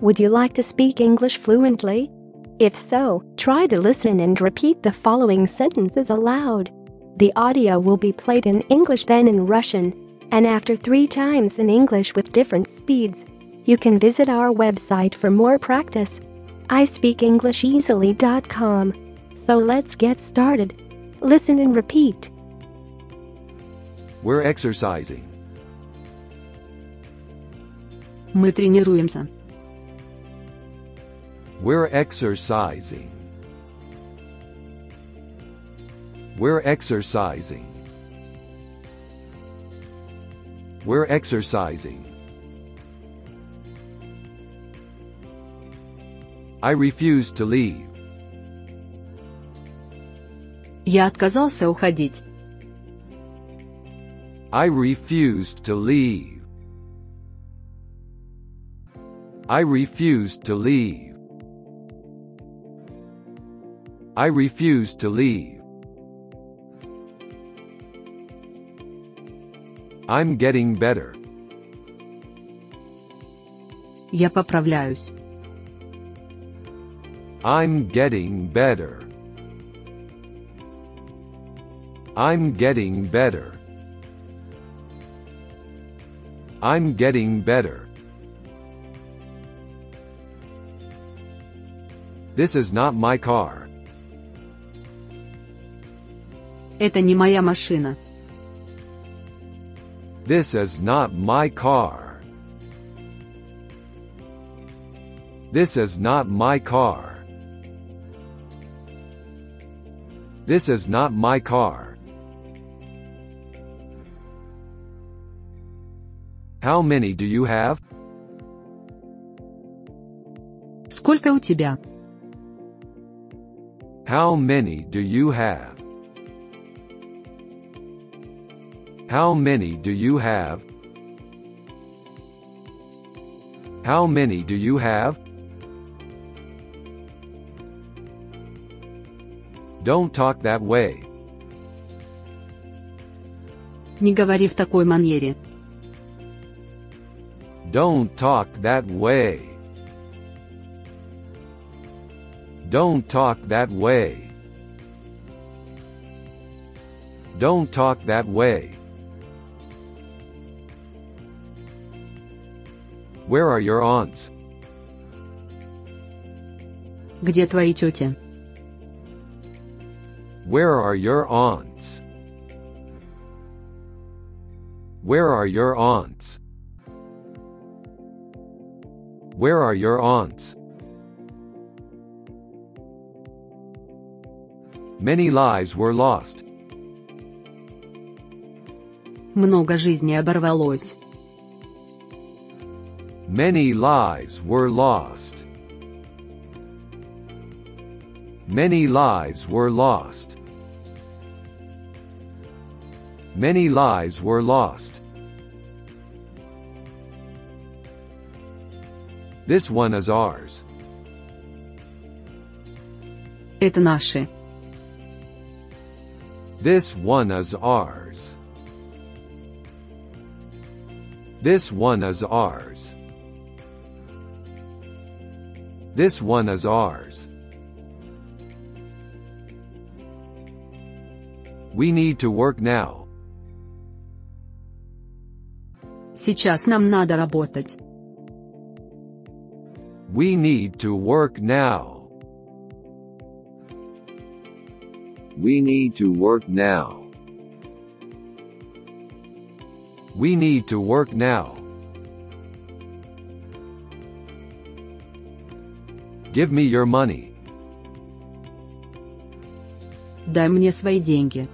Would you like to speak English fluently? If so, try to listen and repeat the following sentences aloud. The audio will be played in English then in Russian, and after 3 times in English with different speeds. You can visit our website for more practice. ispeakenglisheasily.com. So let's get started. Listen and repeat. We're exercising. Мы тренируемся. We're exercising. We're exercising. We're exercising. I refuse to leave. Я отказался уходить. I refuse to leave. I refuse to leave. I refuse to leave. I'm getting better. Я поправляюсь. I'm getting better. I'm getting better. I'm getting better. This is not my car. Это не моя машина. This is not my car. This is not my car. This is not my car. How many do you have? Сколько у тебя? How many do you have? How many do you have? How many do you have? Don't talk that way. Не говори в такой манере. Don't talk that way. Don't talk that way. Don't talk that way. Where are your aunts? Где твои тети? Where are your aunts? Where are your aunts? Where are your aunts? Many lives were lost. Много жизней оборвалось. Many lives were lost. Many lives were lost. Many lives were lost. This one is ours. Это наши. This one is ours. This one is ours. This one is ours. We need to work now. Сейчас нам надо работать. We need to work now. We need to work now. We need to work now. Give me your money. Дай мне свои деньги.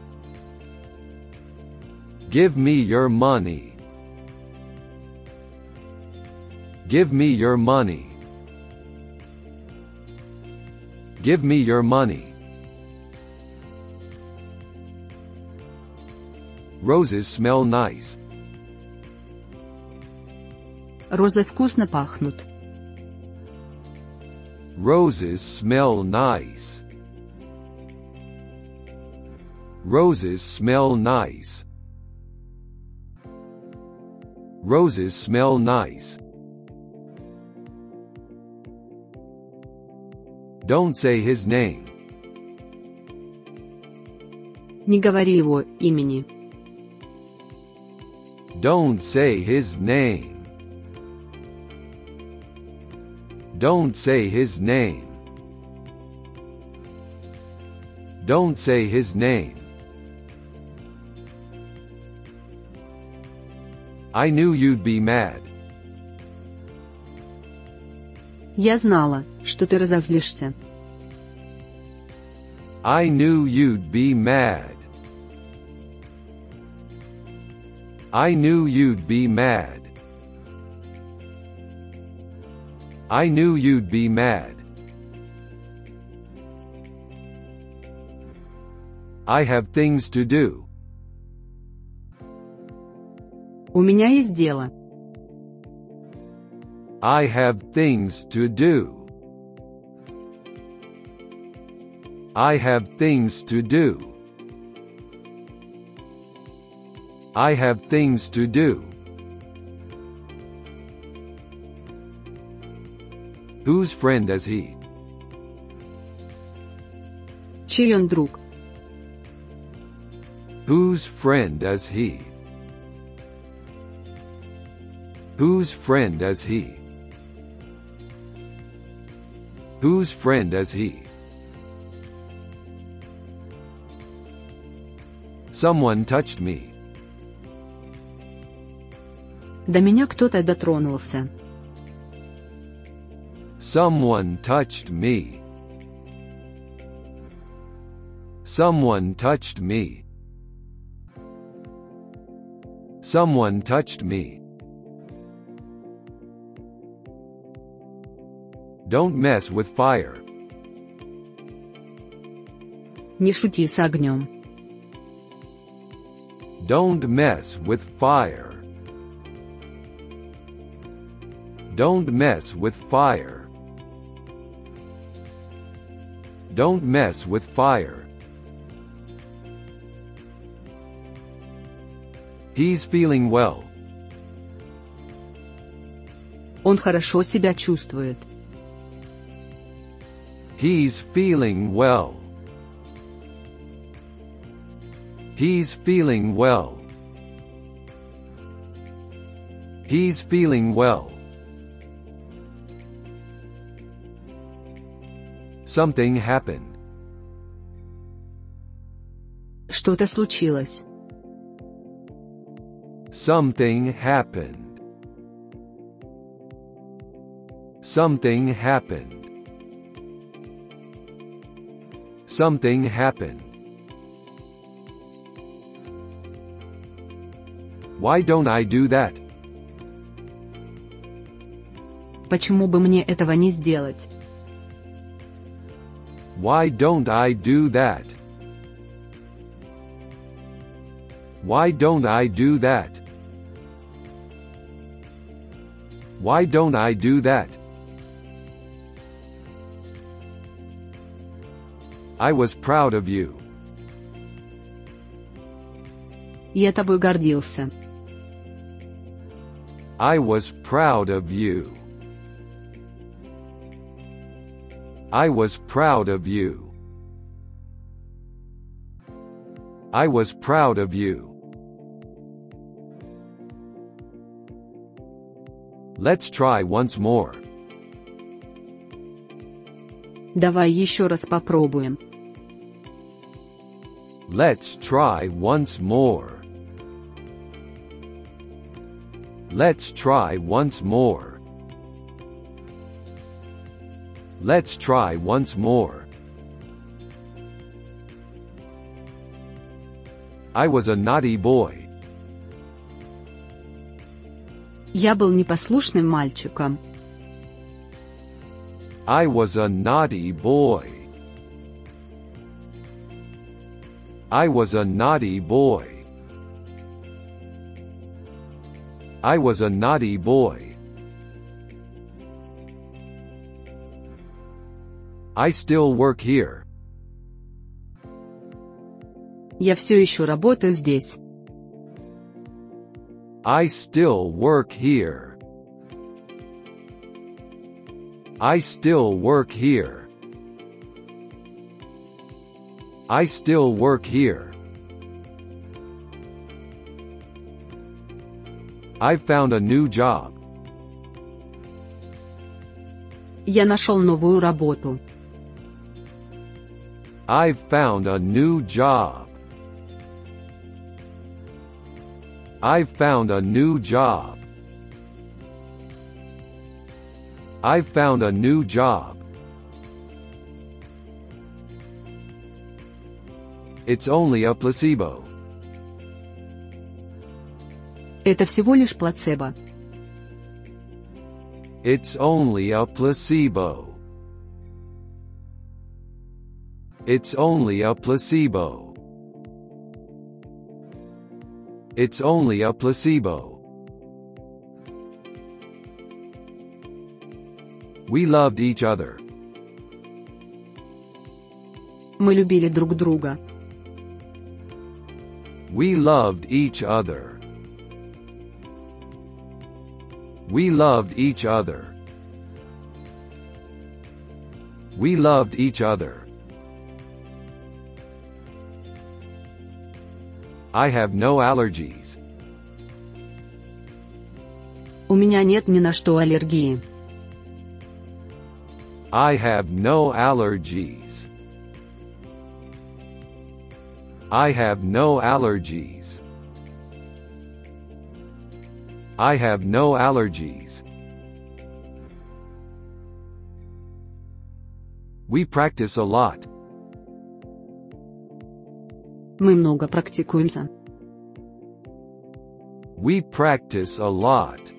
Give me your money. Give me your money. Give me your money. Roses smell nice. Розы вкусно пахнут. Roses smell nice. Roses smell nice. Roses smell nice. Don't say his name. Не говори его имени. Don't say his name. Don't say his name. Don't say his name. I knew you'd be mad. Я знала, что ты разозлишься. I knew you'd be mad. I knew you'd be mad. I knew you'd be mad. I have things to do. У меня есть дело. I have things to do. I have things to do. I have things to do. Whose friend is he? Чей он друг? Whose friend is he? Whose friend is he? Whose friend is he? Someone touched me. До меня кто-то дотронулся. Someone touched me. Someone touched me. Someone touched me. Don't mess with fire. Не шути с огнем. Don't mess with fire. Don't mess with fire. Don't mess with fire. He's feeling well. Он хорошо себя чувствует. He's feeling well. He's feeling well. He's feeling well. Something happened. Что-то случилось. Something happened. Something happened. Something happened. Why don't I do that? Почему бы мне этого не сделать? Why don't I do that? Why don't I do that? Why don't I do that? I was proud of you. Я тобой гордился. I was proud of you. I was proud of you. I was proud of you. Let's try once more. Давай еще раз попробуем. Let's try once more. Let's try once more. Let's try once more. I was a naughty boy. Я был непослушным мальчиком. I was a naughty boy. I was a naughty boy. I was a naughty boy. I still work here. Я все еще работаю здесь. I still work here. I still work here. I still work here. I've found a new job. Я нашел новую работу. I've found a new job. I've found a new job. I've found a new job. It's only a placebo. Это всего лишь плацебо. It's only a placebo. It's only a placebo. It's only a placebo. We loved each other. Мы любили друг друга. We loved each other. We loved each other. We loved each other. I have no allergies. У меня нет ни на что аллергии. I have no allergies. I have no allergies. I have no allergies. We practice a lot. Мы много практикуемся. We practice a lot.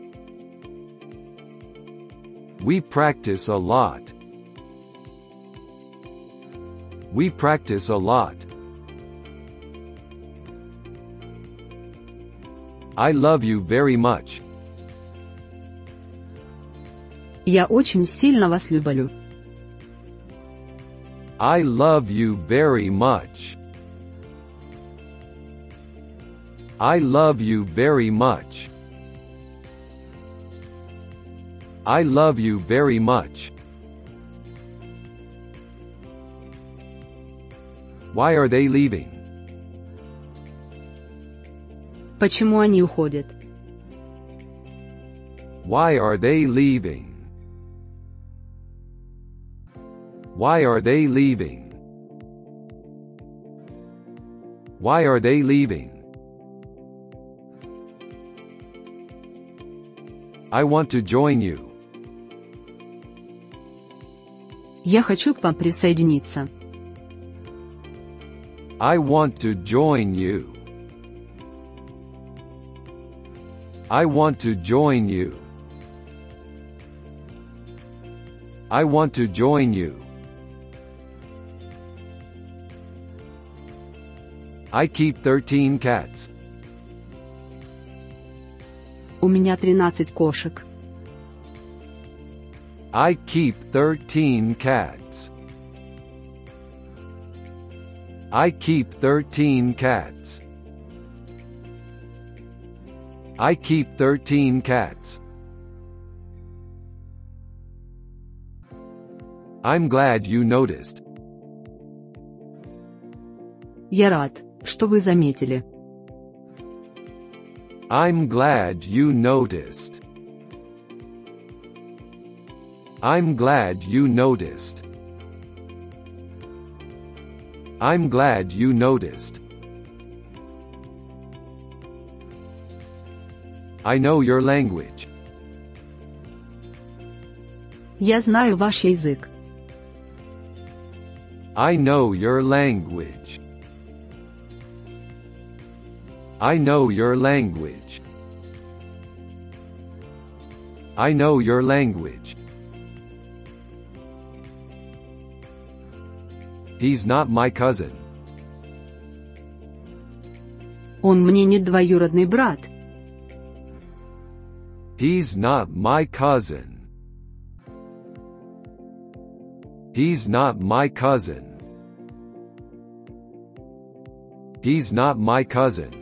We practice a lot. We practice a lot. I love you very much. Я очень сильно вас люблю. I love you very much. I love you very much. I love you very much. Why are they leaving? Почему они уходят? Why are they leaving? Why are they leaving? Why are they leaving? I want to join you. Я хочу к вам присоединиться. I want to join you. I want to join you. I want to join you. I keep 13 cats. У меня 13 кошек. I keep 13 cats. I keep 13 cats. I keep 13 cats. I'm glad you noticed. Я рад, что вы заметили. I'm glad you noticed. I'm glad you noticed. I'm glad you noticed. I know your language. Я знаю ваш язык. I know your language. I know your language. I know your language. He's not my cousin. Он мне не двоюродный брат. He's not my cousin. He's not my cousin. He's not my cousin.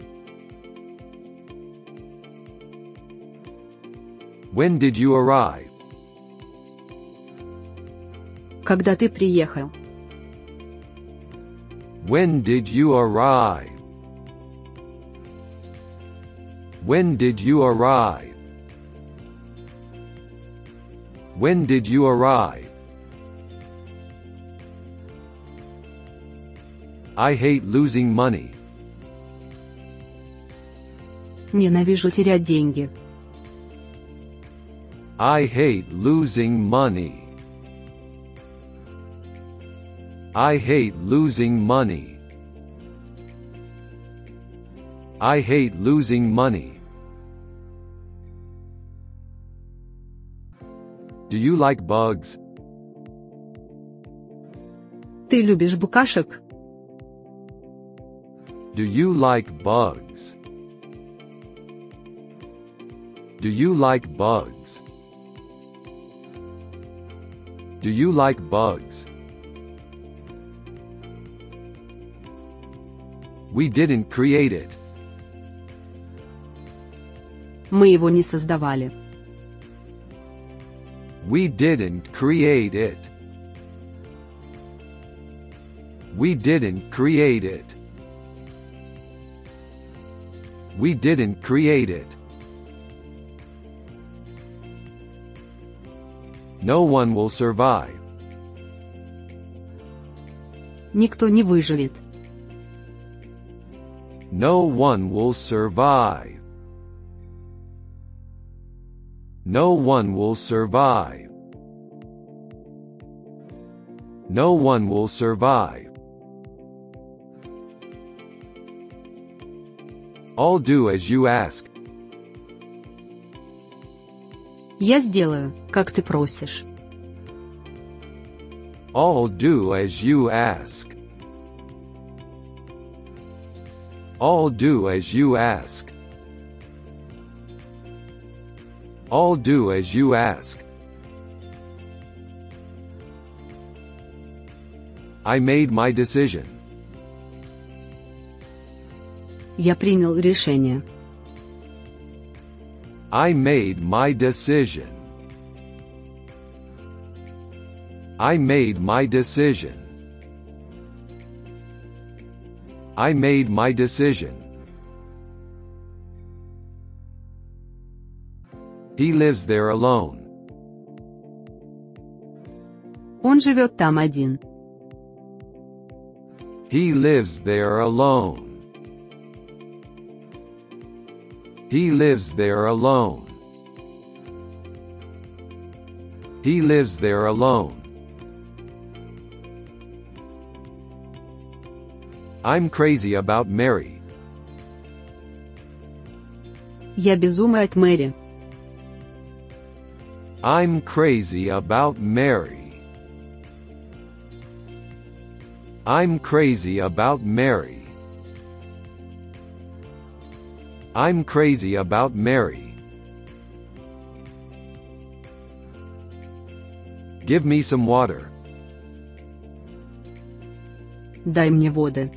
When did you arrive? Когда ты приехал? When did you arrive? When did you arrive? When did you arrive? I hate losing money. Ненавижу терять деньги. I hate losing money. I hate losing money. I hate losing money. Do you like bugs? Ты любишь букашек? Do you like bugs? Do you like bugs? Do you like bugs? We didn't create it. Мы его не создавали. We didn't create it. We didn't create it. We didn't create it. No one will survive. Никто не выживет. No one will survive. No one will survive. No one will survive. I'll do as you ask. Я сделаю, как ты просишь. I'll do as you ask. I'll do as you ask. I'll do as you ask. I made my decision. Я принял решение. I made my decision. I made my decision. I made my decision. He lives there alone. Он живет там один. He lives there alone. He lives there alone. He lives there alone. I'm crazy about Mary. Я безумный от Мэри. I'm crazy about Mary. I'm crazy about Mary. I'm crazy about Mary. Give me some water. Дай мне воды.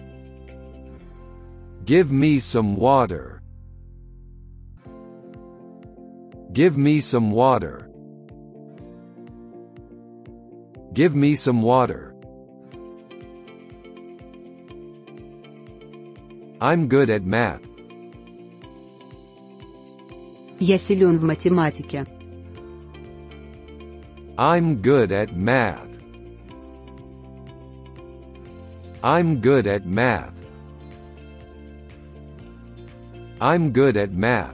Give me some water. Give me some water. Give me some water. I'm good at math. Я силен в математике. I'm good at math. I'm good at math. I'm good at math.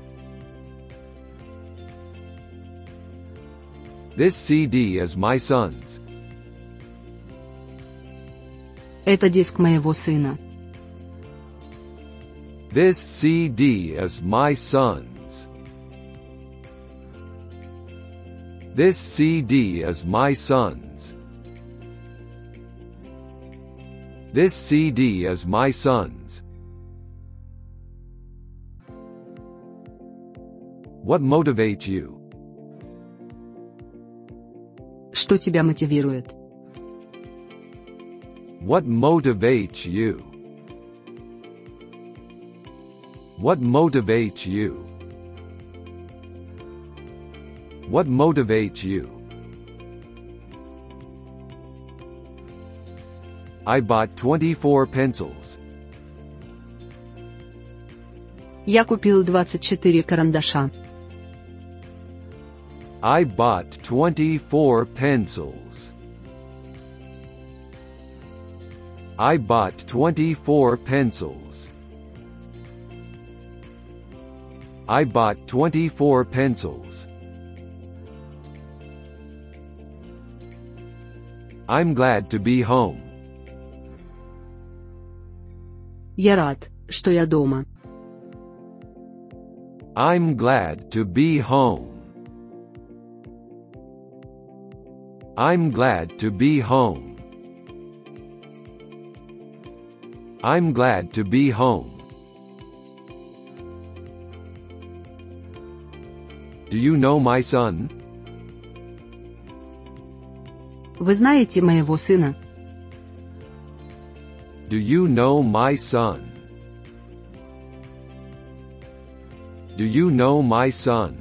This CD is my son's. Это диск моего сына. This CD is my son's. This CD is my son's. This CD is my son's. What motivates you? Что тебя мотивирует? What motivates you? What motivates you? What motivates you? I bought 24 pencils. Я купил 24 карандаша. I bought 24 pencils. I bought 24 pencils. I bought 24 pencils. I'm glad to be home. Я рад, что я дома. I'm glad to be home. I'm glad to be home. I'm glad to be home. Do you know my son? Вы знаете моего сына? Do you know my son? Do you know my son?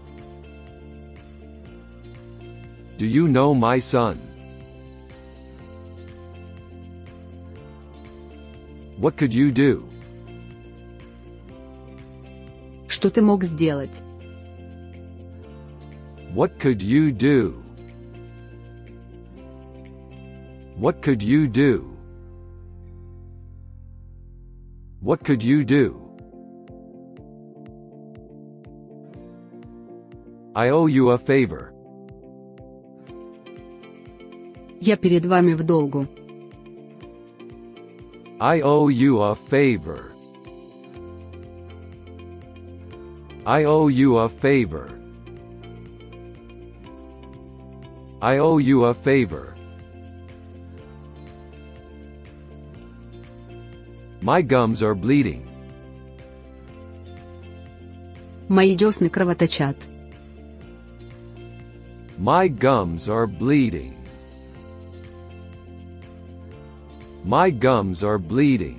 Do you know my son? What could you do? Что ты мог сделать? What could you do? What could you do? What could you do? I owe you a favor. Я перед вами в долгу. I owe you a favor. I owe you a favor. I owe you a favor. My gums are bleeding. Мои десны кровоточат. My gums are bleeding. My gums are bleeding.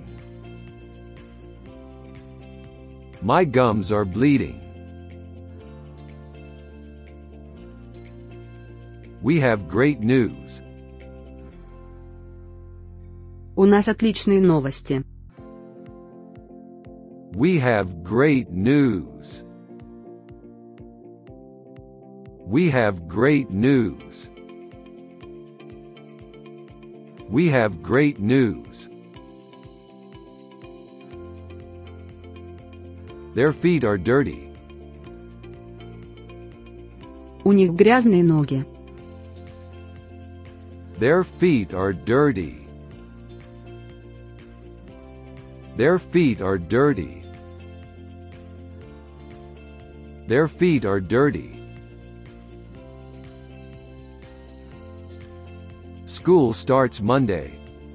My gums are bleeding. We have great news. У нас отличные новости. We have great news. We have great news. We have great news. Their feet are dirty. У них грязные ноги. Their feet are dirty. Their feet are dirty. Their feet are dirty. School starts Monday.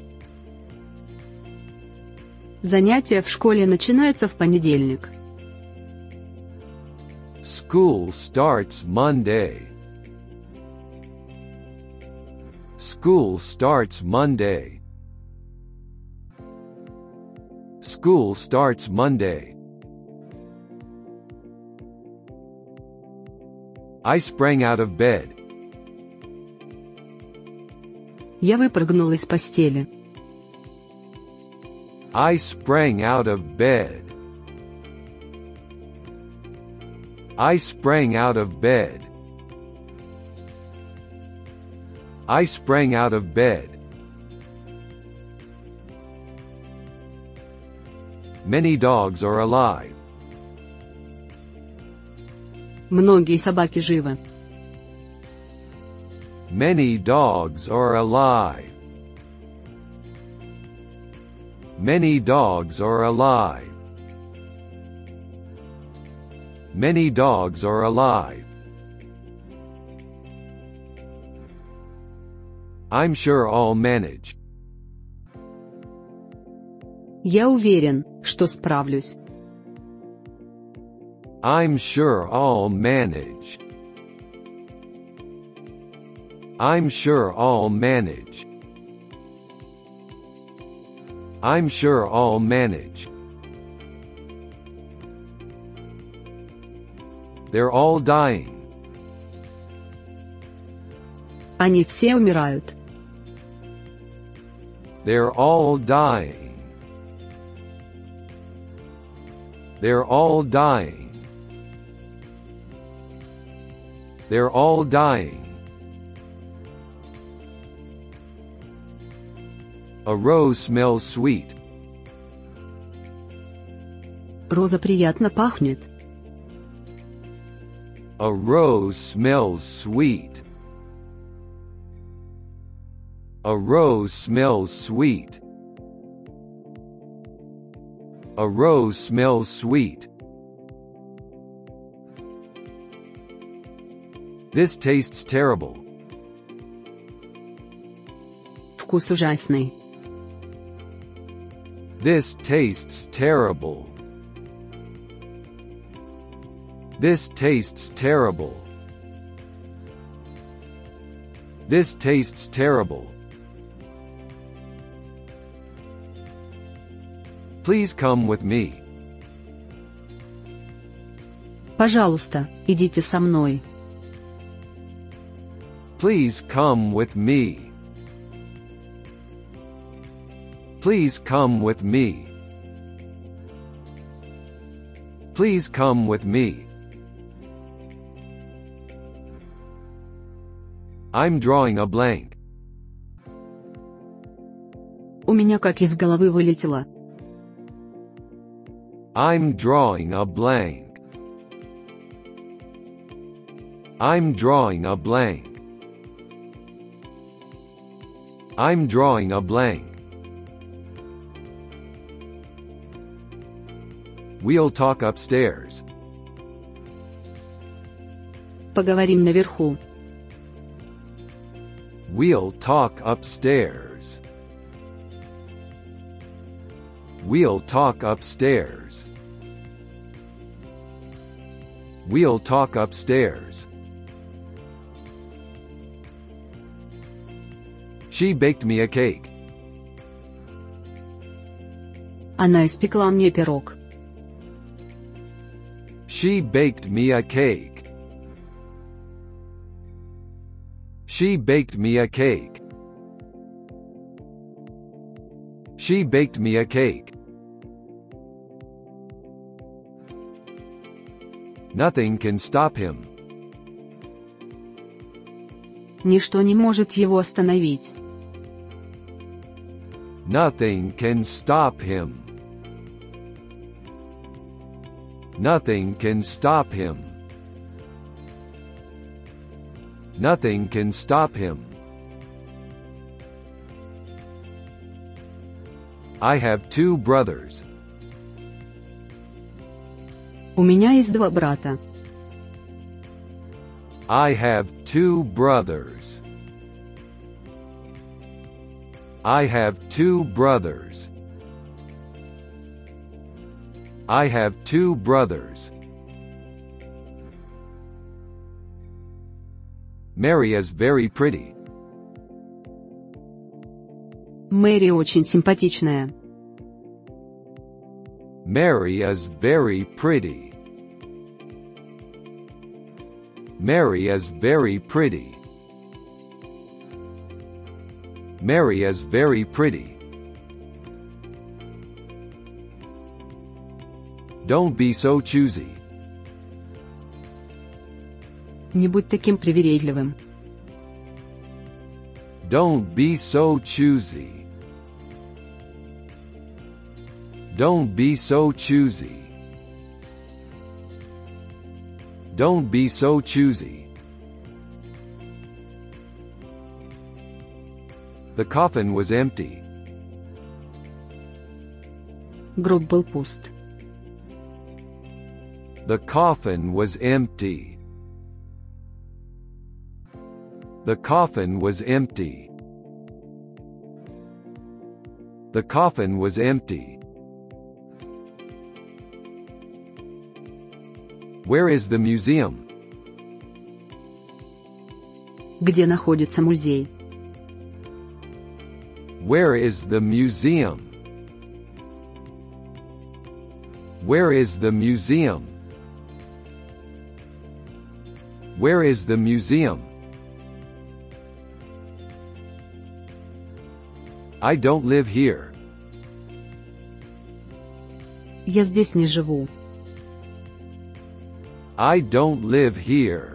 Занятия в школе начинаются в понедельник. School starts Monday. School starts Monday. School starts Monday. I sprang out of bed. Я выпрыгнул из постели. I sprang out of bed. I sprang out of bed. I sprang out of bed. Many dogs are alive. Многие собаки живы. Many dogs are alive. Many dogs are alive. Many dogs are alive. I'm sure I'll manage. Я уверен, что справлюсь. I'm sure I'll manage. I'm sure I'll manage. I'm sure I'll manage. They're all dying. Они все умирают. They're all dying. They're all dying. They're all dying. A rose smells sweet. Роза приятно пахнет. A rose smells sweet. A rose smells sweet. A rose smells sweet. This tastes terrible. Вкус ужасный. This tastes terrible. This tastes terrible. This tastes terrible. Please come with me. Пожалуйста, идите со мной. Please come with me. Please come with me. Please come with me. I'm drawing a blank. У меня как из головы вылетело. I'm drawing a blank. I'm drawing a blank. I'm drawing a blank. We'll talk upstairs. Поговорим наверху. We'll talk upstairs. We'll talk upstairs. We'll talk upstairs. She baked me a cake. Она испекла мне пирог. She baked me a cake. She baked me a cake. She baked me a cake. Nothing can stop him. Ничто не может его остановить. Nothing can stop him. Nothing can stop him. Nothing can stop him. I have two brothers. У меня есть два брата. I have two brothers. I have two brothers. I have two brothers. Mary is very pretty. Мэри очень симпатичная. Mary is very pretty. Mary is very pretty. Mary is very pretty. Don't be so choosy. Не будь таким привередливым. Don't be so choosy. Don't be so choosy. Don't be so choosy. The coffin was empty. Гроб был пуст. The coffin was empty. The coffin was empty. The coffin was empty. Where is the museum? Где находится музей? Where is the museum? Where is the museum? Where is the museum? I don't live here. Я здесь не живу. I don't live here.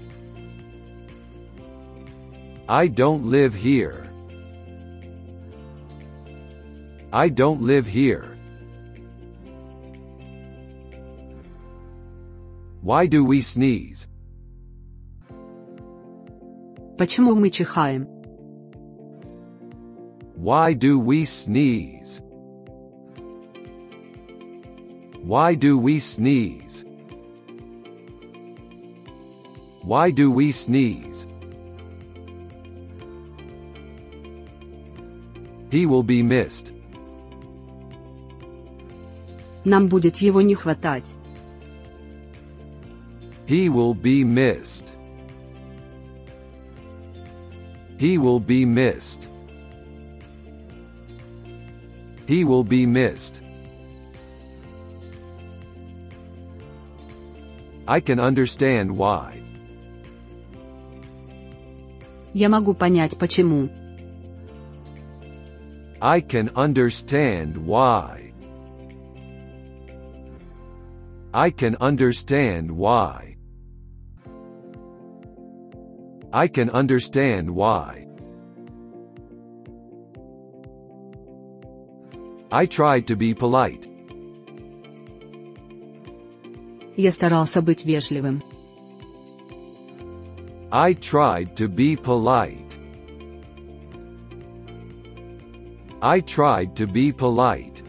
I don't live here. I don't live here. Why do we sneeze? Почему мы чихаем? Why do we sneeze? Why do we sneeze? Why do we sneeze? He will be missed. Нам будет его не хватать. He will be missed. He will be missed. He will be missed. I can understand why. Я могу понять, почему. I can understand why. I can understand why. I can understand why. I tried to be polite. Я старался быть вежливым. I tried to be polite. I tried to be polite.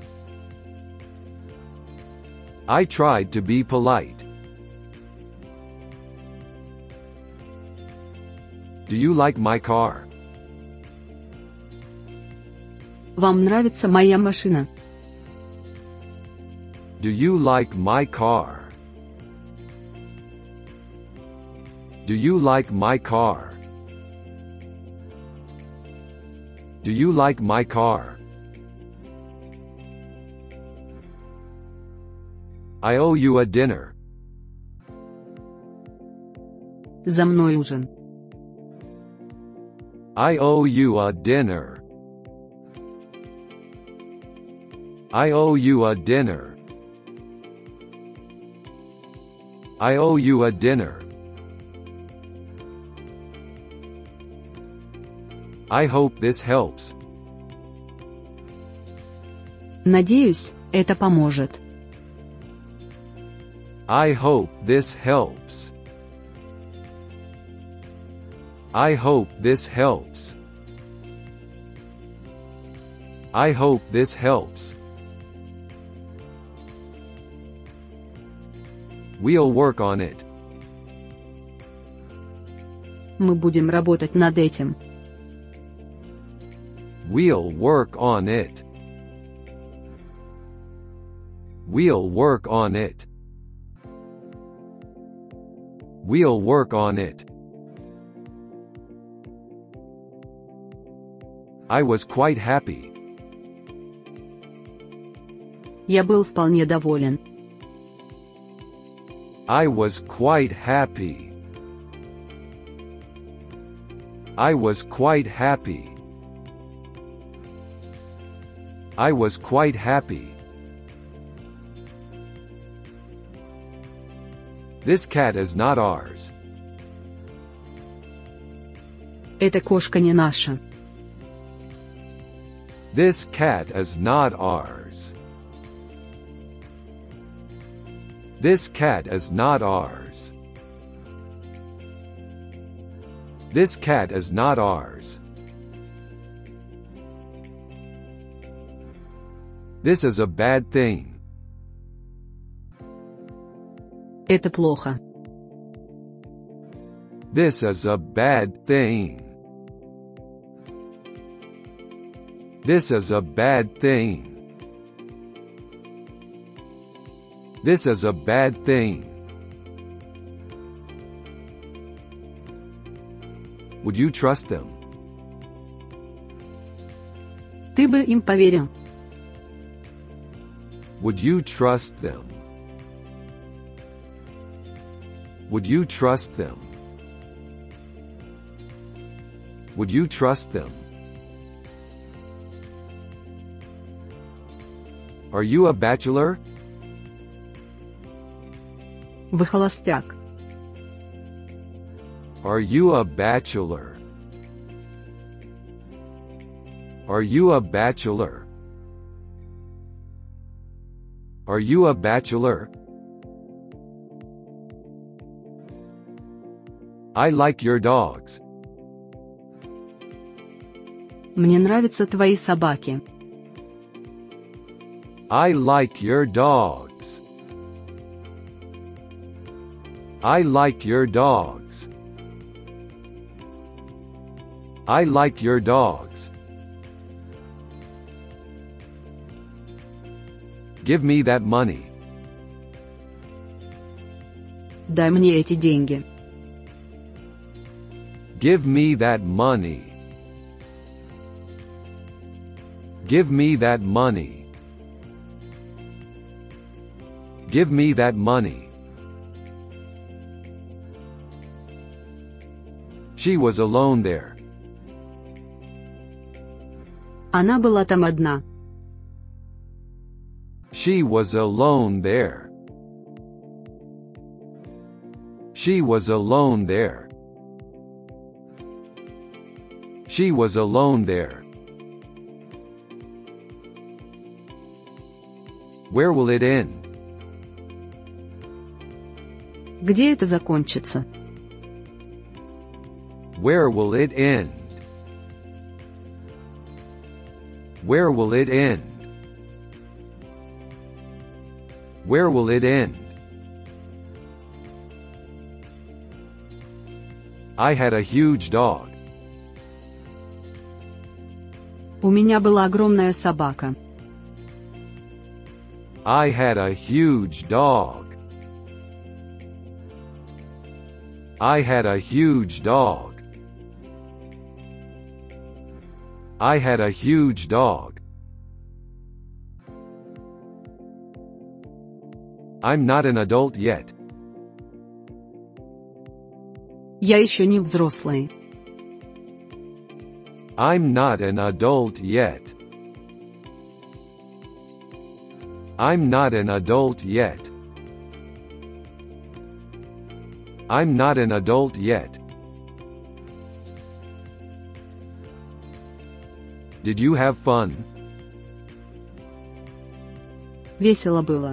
I tried to be polite. Do you like my car? Вам нравится моя машина? Do you like my car? Do you like my car? Do you like my car? I owe you a dinner. За мной ужин. I owe you a dinner. I owe you a dinner. I owe you a dinner. I hope this helps. Надеюсь, это поможет. I hope this helps. I hope this helps. I hope this helps. We'll work on it. Мы будем работать над этим. We'll work on it. We'll work on it. We'll work on it. I was quite happy. Я был вполне доволен. I was quite happy. I was quite happy. I was quite happy. This cat is not ours. Эта кошка не наша. This cat is not ours. This cat is not ours. This cat is not ours. This is a bad thing. Это плохо. This is a bad thing. This is a bad thing. This is a bad thing. Would you trust them? Ты бы им поверил. Would you trust them? Would you trust them? Would you trust them? Are you a bachelor? Вы холостяк. Are you a bachelor? Are you a bachelor? Are you a bachelor? I like your dogs. Мне нравятся твои собаки. I like your dogs. I like your dogs. I like your dogs. Give me that money. Дай мне эти деньги. Give me that money. Give me that money. Give me that money. She was alone there. Она была там одна. She was alone there. She was alone there. She was alone there. Where will it end? Где это закончится? Where will it end? Where will it end? Where will it end? I had a huge dog. У меня была огромная собака. I had a huge dog. I had a huge dog. I had a huge dog. I'm not an adult yet. Я еще не взрослый. I'm not an adult yet. I'm not an adult yet. I'm not an adult yet. Did you have fun? Весело было.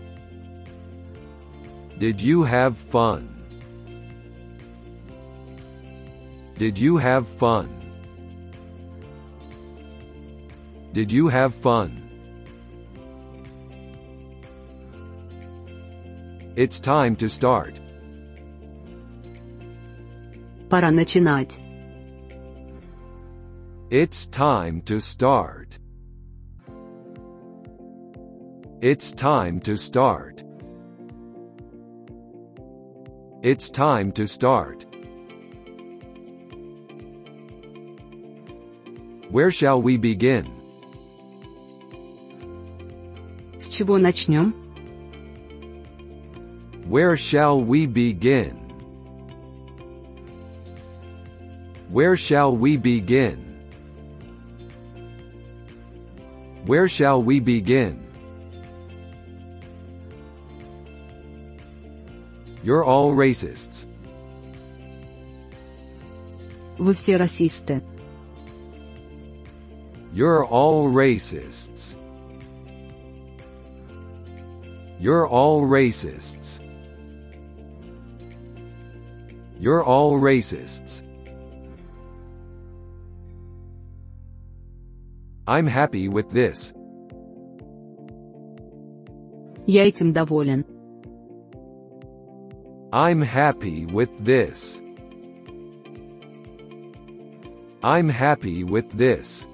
Did you have fun? Did you have fun? Did you have fun? It's time to start. Пора начинать. It's time to start. It's time to start. It's time to start. Where shall we begin? С чего начнем? Where shall we begin? Where shall we begin? Where shall we begin? You're all racists. Вы все расисты. You're all racists. You're all racists. You're all racists. I'm happy with this. Я этим доволен. I'm happy with this. I'm happy with this.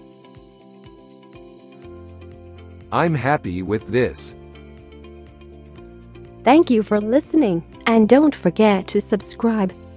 I'm happy with this. Thank you for listening, and don't forget to subscribe.